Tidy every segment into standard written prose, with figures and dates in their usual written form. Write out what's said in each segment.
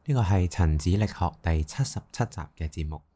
呢個係陳子力學第77集嘅節目。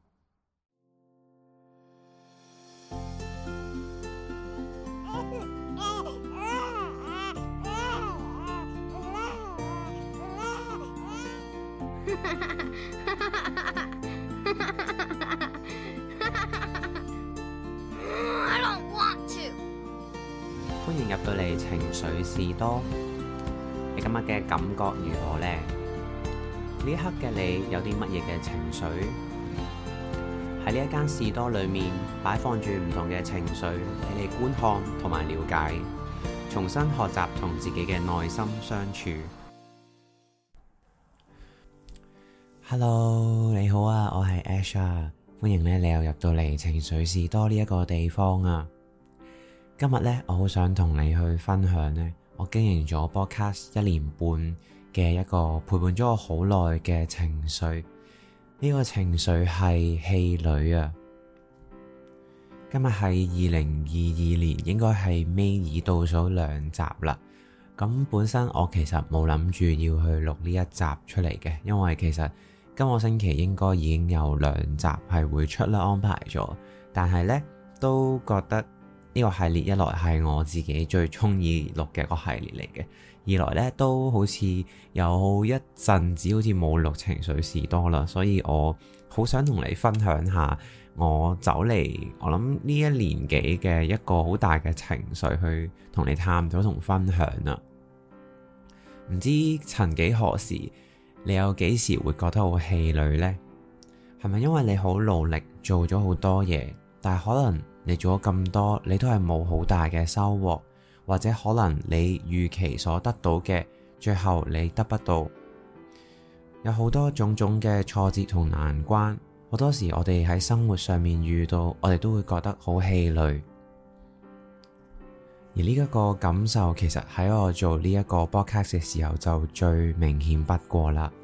歡迎入到嚟情緒士多，你今日嘅感覺如何呢？呢一刻嘅你有啲乜嘢嘅情緒？喺呢一間士多裏面擺放住唔同嘅情緒俾你觀看同埋了解，重新學習同自己嘅內心相處。Hello， 你好啊，我係 Ash 啊，歡迎你又入到嚟情緒士多呢一個地方啊。今日呢，我好想同你去分享呢，我經營咗 Podcast 1年半嘅一個陪伴咗我好耐嘅情緒。呢個情緒係氣餒啊。今日係2022年，應該係尾二倒數2集啦。咁本身我其實冇諗住要去錄呢一集出嚟嘅，因為其實今個星期應該已經有2集係會出啦，安排咗。但係呢，都覺得呢個系列一來係我自己最中意錄嘅一個系列嚟嘅，二來呢都好似有一陣子好似冇錄情緒士多啦，所以我好想同你分享下我走嚟我諗呢1年幾嘅一個好大嘅情緒去同你探討同分享啊。唔知曾幾何時你有幾時會覺得好氣餒呢？係咪因為你好努力做咗好多嘢，但係可能你做咗咁多，你都係冇好大嘅收穫，或者可能你預期所得到嘅，最後你得不到。有好多種種嘅挫折同難關，好多時我哋喺生活上面遇到，我哋都會覺得好氣餒。而呢一個感受，其實喺我做呢一個 podcast 嘅時候就最明顯不過啦。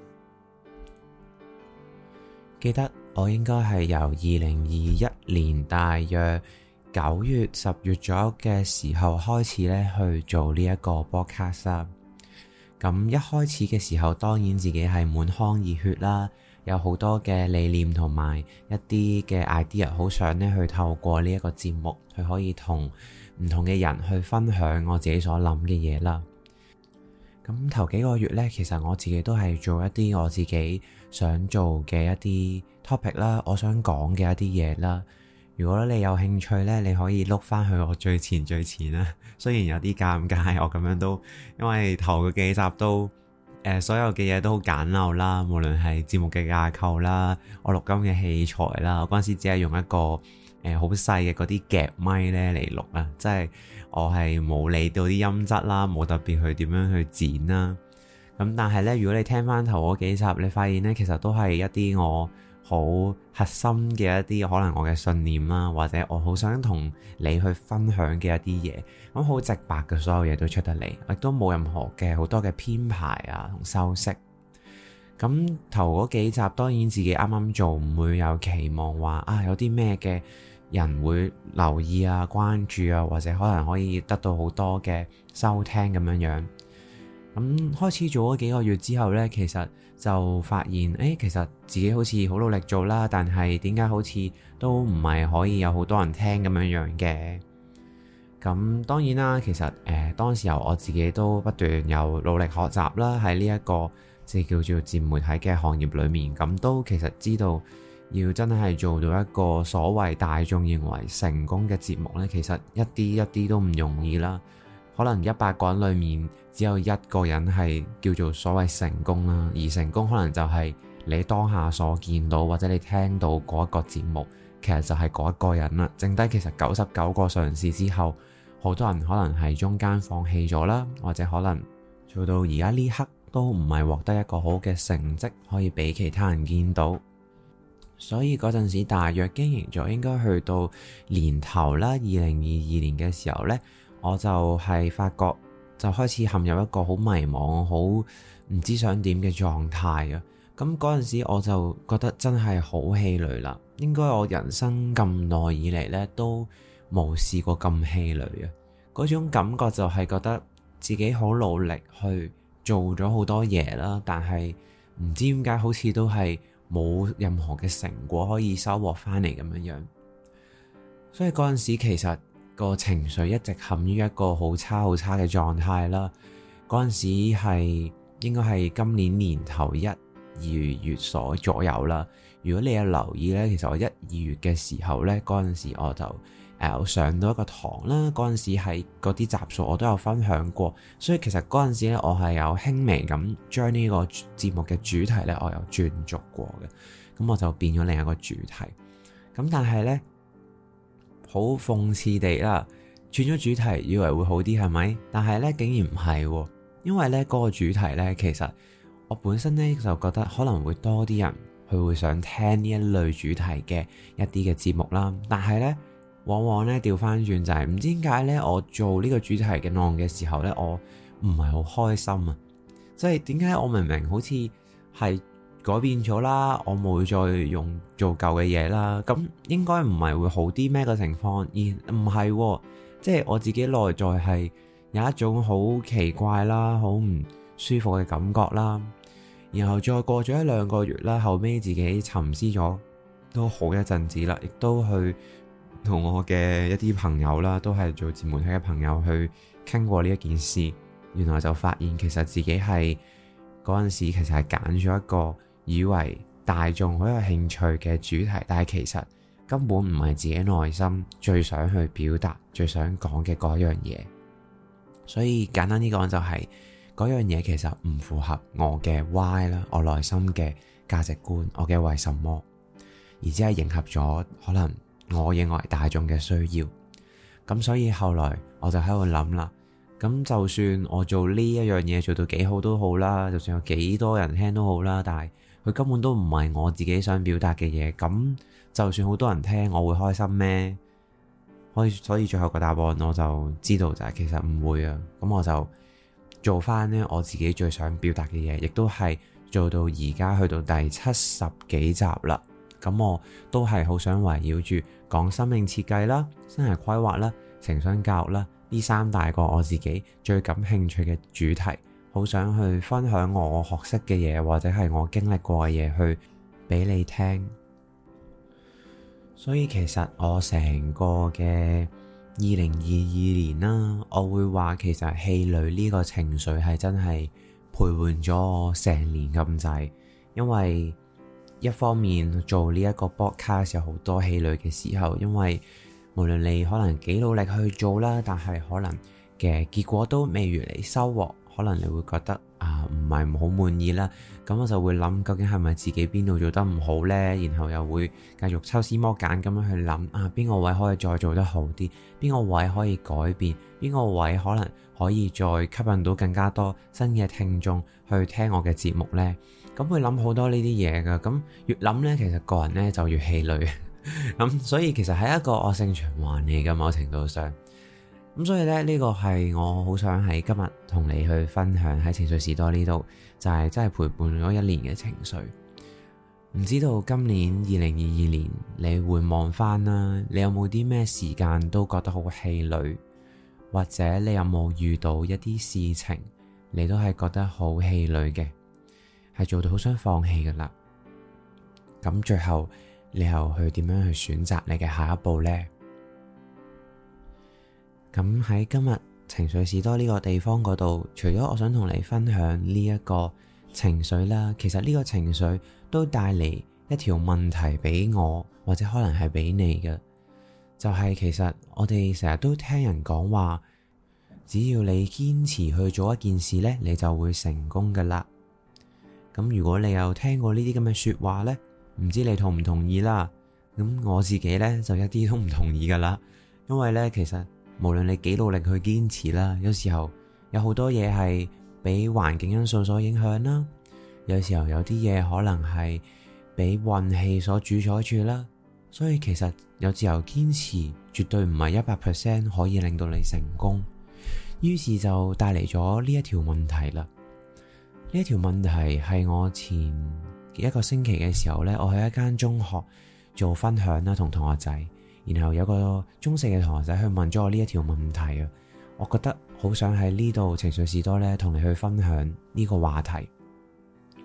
記得我應該係由2021年大約9月、10月左右嘅時候開始咧去做呢一個 podcast。咁一開始嘅時候，當然自己係滿腔熱血啦，有好多嘅理念同埋一啲嘅 idea， 好想咧去透過呢一個節目，去可以同唔同嘅人去分享我自己所諗嘅嘢啦。咁頭幾個月呢，其實我自己都係做一啲我自己想做嘅一啲 topic 啦，我想講嘅一啲嘢啦。如果你有興趣呢，你可以碌翻去我最前啦。雖然有啲尷尬，我咁樣都因為頭嗰幾集都所有嘅嘢都好簡陋啦，無論係節目嘅架構啦，我錄音嘅器材啦，我嗰陣時只係用一個好細嘅嗰啲夾咪呢嚟錄啊，即係我係冇理到啲音質啦，冇特別去點樣去剪啦。咁但係呢，如果你聽翻頭嗰幾集，你發現呢，其實都係一啲我好核心嘅一啲可能我嘅信念啦，或者我好想同你去分享嘅一啲嘢，咁好直白嘅，所有嘢都出得嚟，亦都冇任何嘅好多嘅編排啊同修飾。咁頭嗰幾集當然自己啱啱做，唔會有期望話有啲咩嘅人會留意啊、關注啊，或者可能可以得到好多嘅收聽咁樣樣。咁開始做咗幾個月之後呢，其實就發現其實自己好似好努力做啦，但係點解好似都唔係可以有好多人聽咁樣樣嘅？咁當然啦，其實當時候我自己都不斷有努力學習啦，喺呢一個即係叫做自媒體嘅行業裏面，咁都其實知道要真係做到一個所謂大眾認為成功嘅節目呢，其實一啲都唔容易啦。可能100個人裏面只有1個人係叫做所謂成功啦，而成功可能就係你當下所見到或者你聽到嗰一個節目，其實就係嗰一個人啦。剩低其實99個嘗試之後，好多人可能係中間放棄咗啦，或者可能做到而家呢刻都唔係獲得一個好嘅成績可以俾其他人見到。所以嗰陣時大約經營咗應該去到年頭啦，2022年嘅時候呢，我就係發覺就開始陷入一個好迷茫、好唔知想點嘅狀態啊。咁嗰陣時我就覺得真係好氣餒啦。應該我人生咁耐以嚟呢，都冇試過咁氣餒啊。嗰種感覺就係覺得自己好努力去做咗好多嘢啦，但係唔知點解好似都係冇任何嘅成果可以收穫翻嚟咁樣樣。所以嗰陣時其實個情緒一直陷於一個好差嘅狀態啦。嗰陣時係應該係今年年頭1、2月左右啦。如果你有留意呢，其實我1、2月嘅時候呢，嗰陣時我就上到一個堂啦。嗰陣時係嗰啲集數我都有分享過，所以其實嗰陣時呢，我係有輕微咁將呢個節目嘅主題呢，我有轉續過嘅。咁我就變咗另一個主題。咁但係呢，好諷刺地啦，轉咗主題以為會好啲係咪？但係呢，竟然唔係喎，因為呢嗰個主題呢，其實我本身呢就覺得可能會多啲人佢會想聽呢一類主題嘅一啲嘅節目啦。但係呢，往往呢調翻轉就係唔知點解呢，我做呢個主題嘅內容嘅時候呢，我唔係好開心啊！即係點解我明明好似係改變咗啦，我冇再用做舊嘅嘢啦，咁應該唔係會好啲咩個情況？而唔係喎，即係我自己內在係有一種好奇怪啦、好唔舒服嘅感覺啦。然後再過咗1、2個月啦，後尾自己沉思咗都好一陣子啦，亦都去同我嘅一啲朋友啦，都係做自媒體嘅朋友去傾過呢一件事。原來就發現其實自己係嗰陣時其實係揀咗一個以為大眾好有興趣嘅主題，但係其實根本唔係自己內心最想去表達、最想講嘅嗰樣嘢。所以簡單啲講就係嗰樣嘢其實唔符合我嘅 why 啦，我內心嘅價值觀，我嘅為什麼，而只係迎合咗可能我認為大眾嘅需要。咁所以後來我就喺度諗啦，咁就算我做呢一樣嘢做到幾好都好啦，就算有幾多人聽都好啦，但係佢根本都唔係我自己想表達嘅嘢，咁就算好多人聽，我會開心咩？所以最後個答案我就知道就係其實唔會啊。咁我就做翻呢我自己最想表達嘅嘢，亦都係做到而家去到第70幾集啦。咁我都係好想圍繞住講生命設計啦、生涯規劃啦、情商教育啦呢3大個我自己最感興趣嘅主題，好想去分享我學識嘅嘢，或者係我經歷過嘅嘢去俾你聽。所以其實我成個嘅2022年啦，我會話其實氣餒呢個情緒係真係陪伴咗我成年咁滯。因為一方面做呢一個 podcast 有好多氣餒嘅時候，因為無論你可能幾努力去做啦，但係可能嘅結果都未如你收穫，可能你會覺得唔係好滿意啦。咁我就會諗究竟係咪自己邊度做得唔好呢？然後又會繼續抽絲剝繭咁樣去諗邊個位可以再做得好啲，邊個位可以改變，邊個位可能可以再吸引到更加多新嘅聽眾去聽我嘅節目呢？咁會諗好多呢啲嘢噶，咁越諗呢，其實個人呢就越氣餒。咁所以其實係一個惡性循環嚟嘅，某程度上。咁所以咧，呢個係我好想喺今日同你去分享喺情緒士多呢度，就係真係陪伴咗1年嘅情緒。唔知道今年2022年你回望翻啦，你有冇啲咩時間都覺得好氣餒，或者你有冇遇到一啲事情你都係覺得好氣餒嘅，係做到好想放棄噶啦。咁最後你又去點樣去選擇你嘅下一步呢？咁喺今日情緒士多呢個地方嗰度，除咗我想同你分享呢一個情緒啦，其實呢個情緒都帶嚟一條問題俾我，或者可能係俾你嘅，就係其實我哋成日都聽人講話，只要你堅持去做一件事呢，你就會成功噶啦。咁如果你有聽過呢啲咁嘅說話呢，唔知你同唔同意啦？咁我自己呢，就一啲都唔同意噶啦，因為呢，其實無論你幾努力去堅持啦，有時候有好多嘢係俾環境因素所影響啦，有時候有啲嘢可能係俾運氣所主宰住啦，所以其實有時候堅持絕對唔係100% 可以令到你成功，於是就帶嚟咗呢一條問題啦。呢一條問題係我前1個星期嘅時候呢，我喺一間中學做分享啦，同同學仔。然後有個中四嘅同學仔去問咗我呢一條問題啊，我覺得好想喺呢度情緒士多呢同你去分享呢個話題。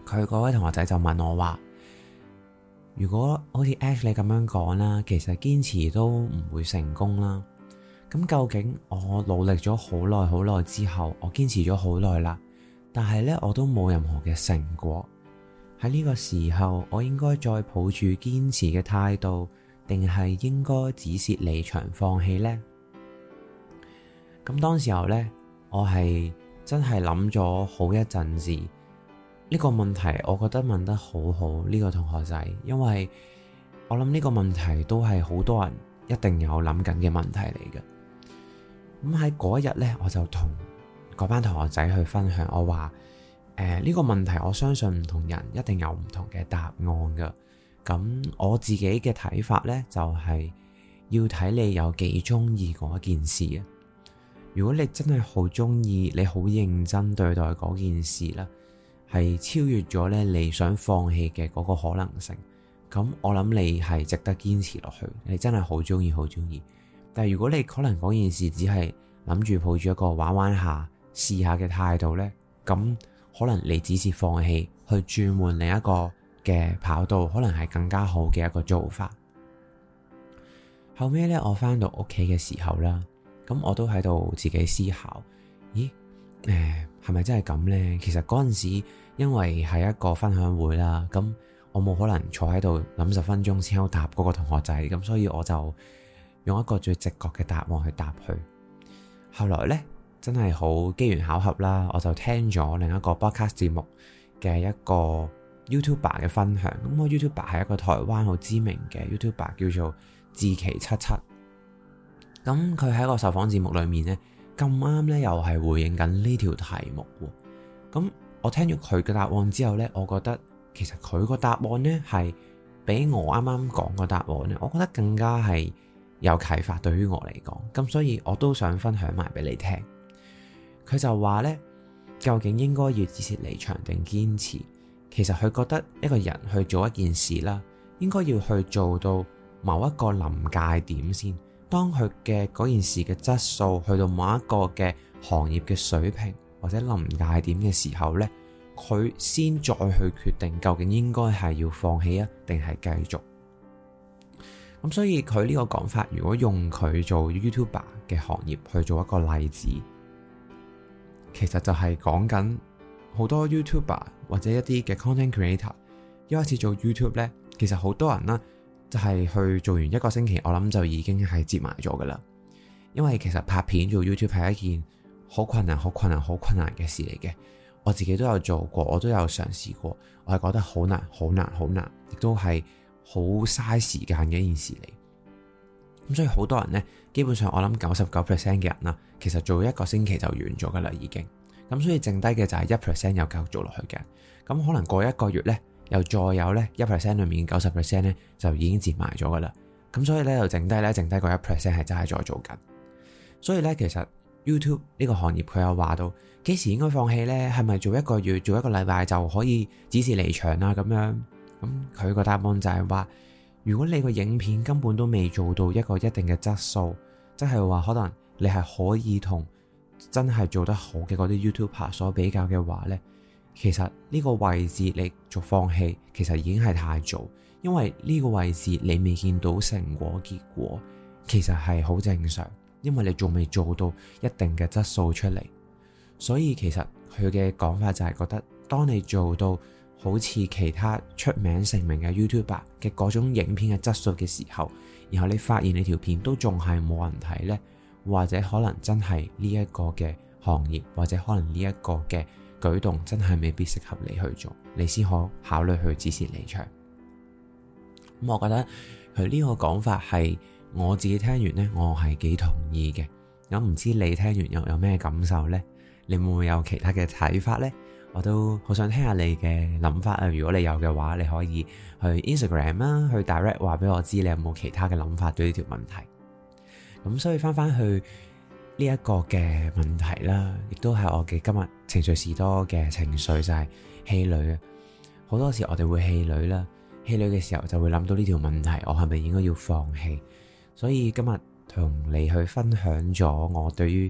佢嗰位同學仔就問我話，如果好似 Ash 你咁樣講啦，其實堅持都唔會成功啦。咁究竟我努力咗好耐之後，我堅持咗好耐啦，但係呢，我都冇任何嘅成果。喺呢個時候，我應該再抱住堅持嘅態度，定係應該止蝕離場放棄呢？咁當時候呢，我係真係諗咗好一陣子。呢個問題我覺得問得好好，呢個同學仔，因為我諗呢個問題都係好多人一定有諗緊嘅問題嚟嘅。咁喺嗰一日呢，我就同嗰班同學仔去分享，我話呢個問題我相信唔同人一定有唔同嘅答案噶。咁我自己嘅睇法呢，就係要睇你有幾中意嗰件事啊。如果你真係好中意，你好認真對待嗰件事啦，係超越咗咧你想放棄嘅嗰個可能性，咁我諗你係值得堅持落去。你真係好中意。但係如果你可能嗰件事只係諗住抱住一個玩下試下嘅態度呢，咁可能你只是放棄去轉換另一個嘅跑道，可能係更加好嘅一個做法。後尾呢，我翻到屋企嘅時候啦，咁我都喺度自己思考，咦，係咪真係咁呢？其實嗰陣時因為係一個分享會啦，咁我冇可能坐喺度諗10分鐘先好答嗰個同學仔，咁所以我就用一個最直覺嘅答案去答佢。後來呢，真係好機緣巧合啦，我就聽咗另一個 podcast 節目嘅一個 YouTuber 嘅分享。咁個 YouTuber 係一個台灣好知名嘅 YouTuber，叫做志祺77。咁佢喺個受訪節目裏面呢，咁啱呢又係回應緊呢條題目。咁我聽咗佢嘅答案之後呢，我覺得其實佢個答案呢係比我啱啱講個答案呢，我覺得更加係有啟發對於我嚟講。咁所以我都想分享埋俾你聽。佢就話呢，究竟應該要止蝕離場定堅持？其實佢覺得一個人去做一件事啦，應該要去做到某一個臨界點先。當佢嘅嗰件事嘅質素去到某一個嘅行業嘅水平或者臨界點嘅時候呢，佢先再去決定究竟應該係要放棄啊，定係繼續。咁所以佢呢個講法，如果用佢做 YouTuber 嘅行業去做一個例子，其實就係講緊好多 YouTuber 或者一啲嘅 content creator 一開始做 YouTube 呢，其實好多人啦，就係去做完1個星期，我諗就已經係接埋咗噶啦。因為其實拍片做 YouTube 係一件好困難嘅事嚟嘅。我自己都有做過，我都有嘗試過，我係覺得好難，亦都係好嘥時間嘅一件事嚟。咁所以好多人呢，基本上我諗99% 嘅人啦，其實做1個星期就完咗噶啦已經。咁所以剩低嘅就係1% 有繼續做落去嘅。咁可能過1個月呢，又再有呢 1% 裏面 90% 呢就已經接埋咗噶啦。咁所以呢，就剩低個 1% 係真係再做緊。所以呢，其實 YouTube 呢個行業佢有話到幾時應該放棄呢？係咪做1個月做1個禮拜就可以止蝕離場啊？咁樣，咁佢個答案就係話，如果你個影片根本都未做到一個一定嘅質素，即係話可能你係可以同真係做得好嘅嗰啲 YouTuber 所比較嘅話呢，其實呢個位置你做放棄其實已經係太早，因為呢個位置你未見到成果結果，其實係好正常，因為你仲未做到一定嘅質素出嚟。所以其實佢嘅講法就係覺得，當你做到好似其他出名成名嘅 YouTuber 嘅嗰種影片嘅質素嘅時候，然後你發現你條片都仲係冇人睇呢，或者可能真係呢一個嘅行業，或者可能呢一個嘅舉動真係未必適合你去做，你先可考慮去止蝕離場。咁我覺得佢呢個講法係我自己聽完呢，我係幾同意嘅。咁唔知你聽完又有咩感受呢？你會唔會有其他嘅睇法呢？我都好想聽下你嘅諗法啊！如果你有嘅話，你可以去 Instagram 啦，去 direct 話俾我知你有冇其他嘅諗法對呢條問題。咁所以翻去呢一個嘅問題啦，亦都係我嘅今日情緒士多嘅情緒，就係氣餒啊！好多時我哋會氣餒啦，氣餒嘅時候就會諗到呢條問題，我係咪應該要放棄？所以今日同你去分享咗我對於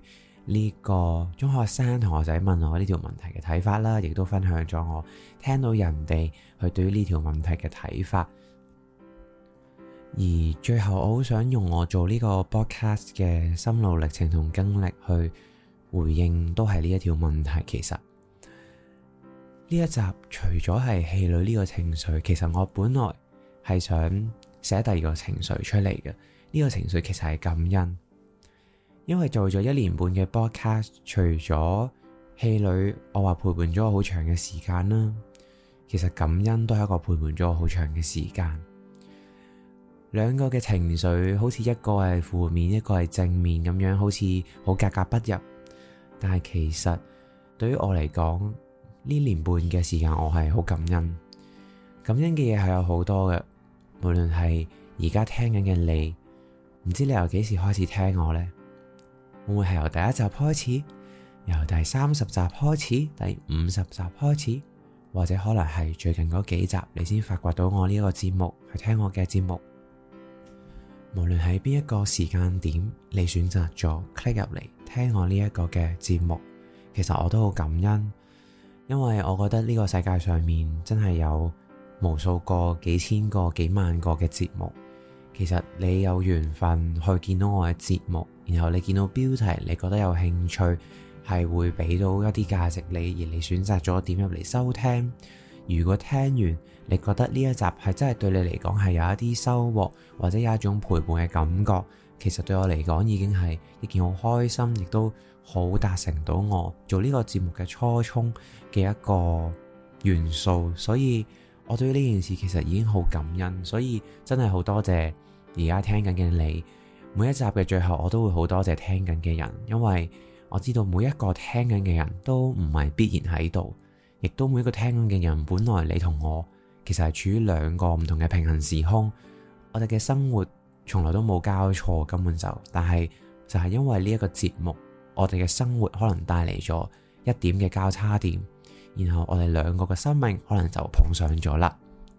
呢個中學生同學仔問我呢條問題嘅睇法啦，亦都分享咗我聽到人哋去對於呢條問題嘅睇法。而最後我好想用我做呢個 podcast 嘅心路歷程同經歷去回應，都係呢一條問題。其實呢一集除咗係氣餒呢個情緒，其實我本來係想寫第二個情緒出嚟嘅。呢個情緒其實係感恩，因為做咗1年半嘅 podcast，除咗氣餒，我話陪伴咗我好長嘅時間啦。其實感恩都係一個陪伴咗我好長嘅時間。兩個嘅情緒好似一個係負面，一個係正面咁樣，好似好格格不入。但係其實對於我嚟講，呢1年半嘅時間我係好感恩。感恩嘅嘢係有好多嘅，無論係而家聽緊嘅你，唔知你由幾時開始聽我呢？會唔會係由第1集開始，由第30集開始，第50集開始，或者可能係最近嗰幾集你先發掘到我呢個節目，去聽我嘅節目。無論喺邊一個時間點，你選擇咗 click 入嚟聽我呢一個嘅節目，其實我都好感恩，因為我覺得呢個世界上面真係有無數個、幾千個、幾萬個嘅節目。其實你有緣分去見到我嘅節目，然後你見到標題，你覺得有興趣，係會俾到一啲價值你，而你選擇咗點入嚟收聽。如果聽完你覺得呢一集係真係對你嚟講係有一啲收穫，或者有一種陪伴嘅感覺，其實對我嚟講已經係一件好開心，亦都好達成到我做呢個節目嘅初衷嘅一個元素。所以我對於呢件事其實已經好感恩，所以真係好多謝而家聽緊嘅你。每一集嘅最後我都會好多謝聽緊嘅人，因為我知道每一個聽緊嘅人都唔係必然喺度，亦都每一個聽緊嘅人本來你同我其實係處於兩個唔同嘅平行時空，我哋嘅生活從來都冇交錯，根本但係就係因為呢一個節目，我哋嘅生活可能帶嚟咗一點嘅交叉點，然後我哋兩個嘅生命可能就碰上咗啦。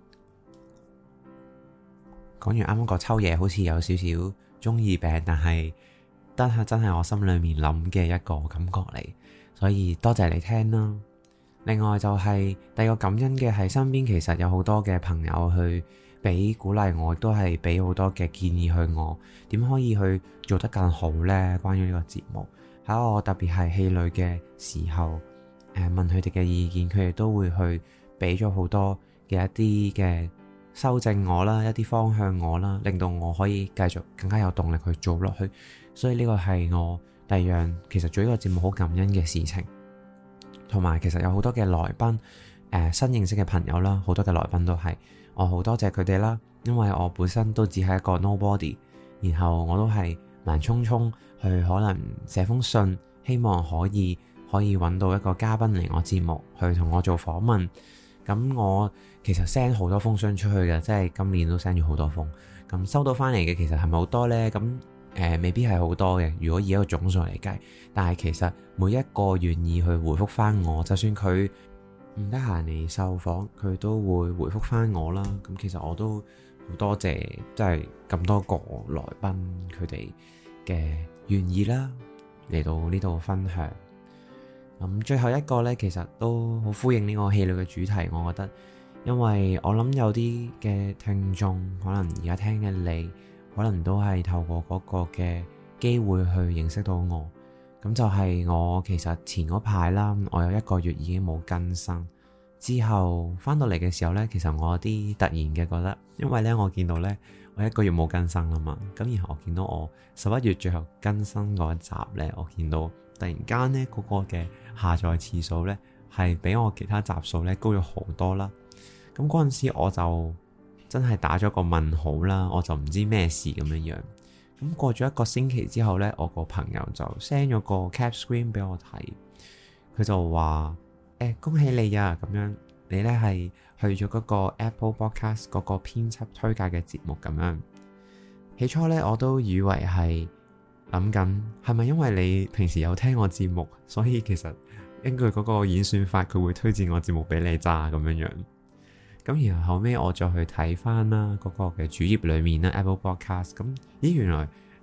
講完啱啱個抽嘢好似有少少中二病，但係真係我心裏面諗嘅一個感覺嚟，所以多謝你聽啦。另外就係第二個感恩嘅係身邊其實有好多嘅朋友去俾鼓勵我，都係俾好多嘅建議去我點可以去做得更好呢？關於呢個節目，喺我特別係氣餒嘅時候，問佢哋嘅意見，佢哋都會去俾咗好多嘅一啲嘅修正我啦，一啲方向我啦，令到我可以繼續更加有動力去做落去。所以呢個係我第二樣其實做呢個節目好感恩嘅事情。同埋其實有好多嘅來賓，新認識嘅朋友啦，好多嘅來賓都係我好多謝佢哋啦，因為我本身都只係一個 nobody， 然後我都係盲衝衝去可能寫封信，希望可以揾到一個嘉賓嚟我節目去同我做訪問。咁我其實 send 好多封信出去嘅，即係今年都 send 咗好多封，咁收到翻嚟嘅其實係咪好多呢？咁未必係好多嘅，如果以一個總數嚟計，但係其實每一個願意去回覆翻我，就算佢唔得閒嚟受訪，佢都會回覆翻我啦。咁其實我都好多謝，即係咁多個來賓佢哋嘅願意啦，嚟到呢度分享。咁最後一個呢，其實都好呼應呢個氣餒嘅主題，我覺得，因為我諗有啲嘅聽眾可能而家聽嘅你，可能都係透過嗰個嘅機會去認識到我。咁就係我其實前嗰排啦，我有1個月已經冇更新，之後翻到嚟嘅時候呢，其實我有啲突然嘅覺得，因為呢，我見到呢，我1個月冇更新啦嘛，咁然後我見到我11月最後更新嗰一集呢，我見到突然間呢，嗰個嘅下載次數呢，係比我其他集數呢高咗好多啦。咁嗰陣時我就真係打咗個問號啦，我就唔知咩事咁樣樣。咁過咗1個星期之後呢，我個朋友就 send 咗個 cap screen 俾我睇，佢就話恭喜你啊，咁樣你呢係去咗嗰個 Apple Podcast 嗰個編輯推介嘅節目咁樣。起初呢，我都以為係諗緊係咪因為你平時有聽我節目，所以其實根據嗰個演算法佢會推薦我節目俾你咋咁樣樣。咁然後後尾我再去睇翻啦嗰個嘅主頁裏面啦 Apple Podcast， 咁咦原來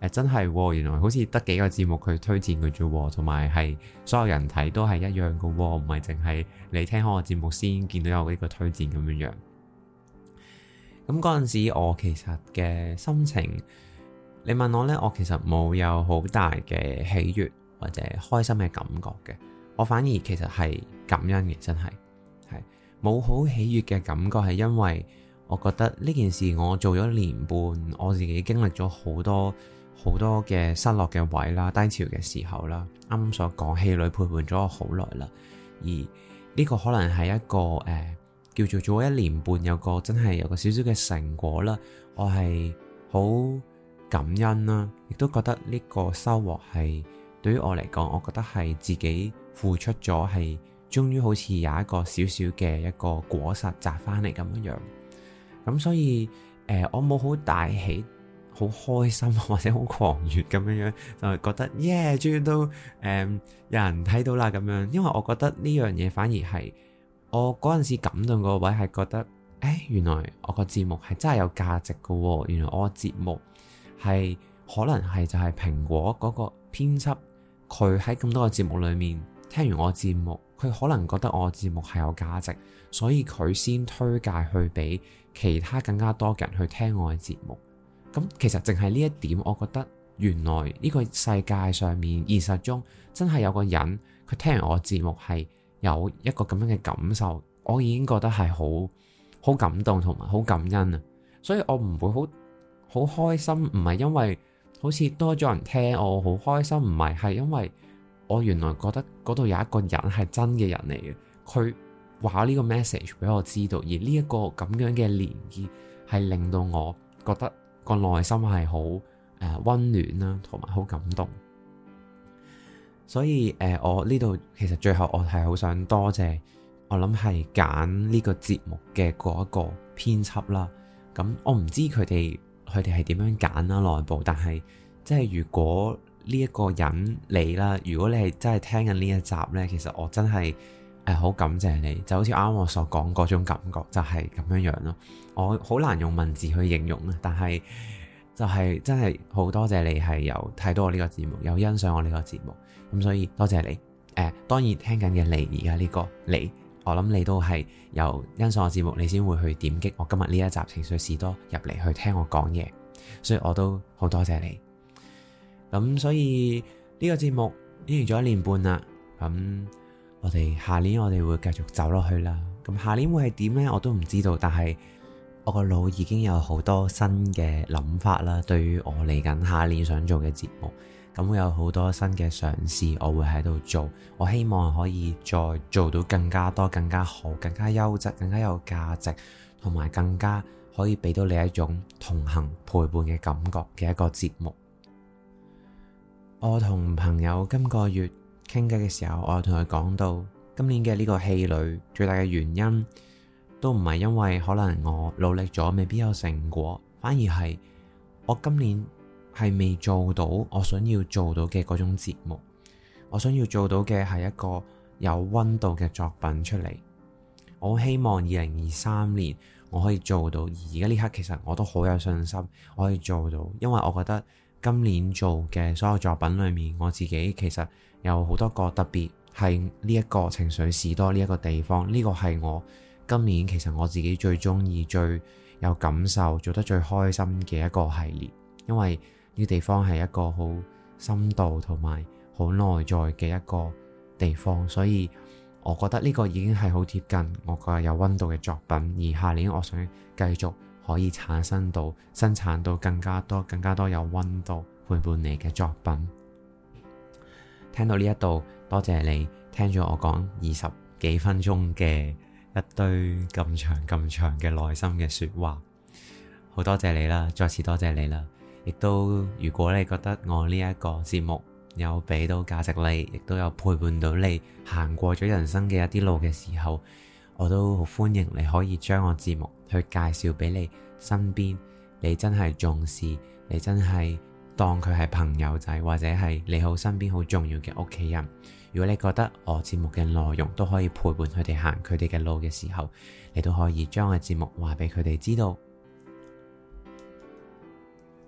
真係原來好似得幾個節目佢推薦嘅啫，同埋係所有人睇都係一樣嘅，唔係淨係你聽開個節目先見到有呢個推薦咁樣樣。咁嗰陣時我其實嘅心情，你問我呢，我其實冇有好大嘅喜悅或者開心嘅感覺嘅，我反而其實係感恩嘅，真係冇好喜悅嘅感覺，係因為我覺得呢件事我做咗年半，我自己經歷咗好多嘅失落嘅位啦、低潮嘅時候啦，啱啱所講氣餒陪伴咗我好耐啦，而呢個可能係一個叫做做咗1年半，真係有個少少嘅成果啦，我係好感恩啦，亦都覺得呢個收穫係對於我嚟講，我覺得係自己付出咗，係終於好似有一個少少嘅一個果實摘翻嚟咁樣樣。咁所以我冇好大喜、好開心或者好狂悅咁樣樣，就係覺得耶，終於都有人睇到啦咁樣。因為我覺得呢樣嘢反而係我嗰陣時感動個位係覺得，原來我個節目係真係有價值噶喎。原來我個節目係可能係就係蘋果嗰個編輯，佢喺咁多個節目裏面聽完我節目，佢可能覺得我節目係有價值，所以佢先推介去俾其他更加多嘅人去聽我嘅節目。咁其實淨係呢一點，我覺得原來呢個世界上面現實中真係有個人，佢聽完我嘅節目係有一個咁樣嘅感受，我已經覺得係好感動同埋好感恩啊！所以我唔會好開心，唔係因為好似多咗人聽我好開心，唔係因為我原來覺得嗰度有一個人係真嘅人嚟嘅，佢話呢個 message 俾我知道，而呢一個咁樣嘅連結係令到我覺得個內心係好溫暖啦，同埋好感動。所以我呢度其實最後我係好想多謝，我諗係揀呢個節目嘅嗰一個編輯啦。咁我唔知佢哋係點樣揀啦內部，但係即係如果呢一個人你啦，如果你係真係聽緊呢一集呢，其實我真係好感謝你，就好似啱啱我所講嗰種感覺就係咁樣樣咯。我好難用文字去形容啦，但係就係真係好多謝你係有睇到我呢個節目，有欣賞我呢個節目，咁所以多謝你。當然聽緊嘅你而家呢個你，我諗你都係有欣賞我節目，你先會去點擊我今日呢一集情緒士多入嚟去聽我講嘢，所以我都好多謝你。咁所以呢個節目已經做咗1年半啦，咁我哋下年我哋會繼續走落去啦。咁下年會係點呢？我都唔知道，但係我個腦已經有好多新嘅諗法啦。對於我嚟緊下年想做嘅節目，咁會有好多新嘅嘗試，我會喺度做。我希望可以再做到更加多、更加好、更加優質、更加有價值，同埋更加可以俾到你一種同行陪伴嘅感覺嘅一個節目。我同朋友今個月傾偈嘅時候，我同佢講到今年嘅呢個氣餒最大嘅原因都唔係因為可能我努力咗未必有成果，反而係我今年係未做到我想要做到嘅嗰種節目。我想要做到嘅係一個有溫度嘅作品出嚟。我希望2023年我可以做到，而家呢刻其實我都好有信心我可以做到，因為我覺得今年做嘅所有作品裏面，我自己其實有好多個特別係呢一個情緒士多呢一個地方，呢個係我今年其實我自己最中意、最有感受、做得最開心嘅一個系列，因為呢個地方係一個好深度同埋好內在嘅一個地方，所以我覺得呢個已經係好貼近我個有溫度嘅作品，而下年我想繼續可以產生到、生產到更加多有溫度陪伴你嘅作品。聽到呢一度，多謝你聽咗我講20幾分鐘嘅一堆咁長嘅內心嘅說話，好多謝你啦，再次多謝你啦。亦都如果你覺得我呢一個節目有俾到價值你，亦都有陪伴到你行過咗人生嘅一啲路嘅時候，我都好歡迎你可以將我節目去介紹俾你身邊你真係重視、你真係當佢係朋友仔，或者係你好身邊好重要嘅屋企人。如果你覺得我節目嘅內容都可以陪伴佢哋行佢哋嘅路嘅時候，你都可以將我節目話俾佢哋知道。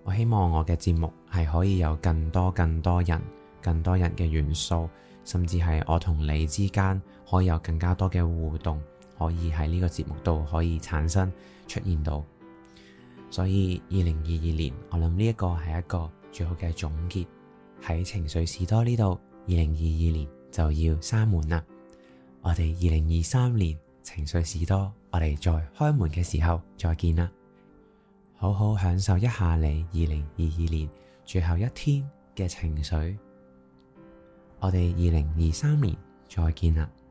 我希望我嘅節目係可以有更多人嘅元素，甚至係我同你之間可以有更加多嘅互動，可以喺呢個節目度可以產生出現到。所以2022年，我諗呢一個係一個最好嘅總結。喺情緒士多呢度，2022年就要閂門啦。我哋2023年情緒士多，我哋再開門嘅時候再見啦。好好享受一下你2022年最後一天嘅情緒。我哋2023年再見啦。